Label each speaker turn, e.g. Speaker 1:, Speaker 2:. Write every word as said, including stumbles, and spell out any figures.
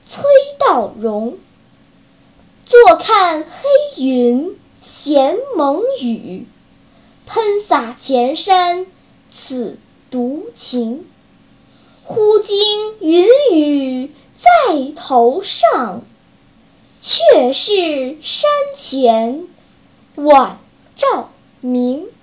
Speaker 1: 崔道融。坐看黑云衔蒙雨，喷洒前山此独晴。忽惊云雨在头上，却是山前晚照明。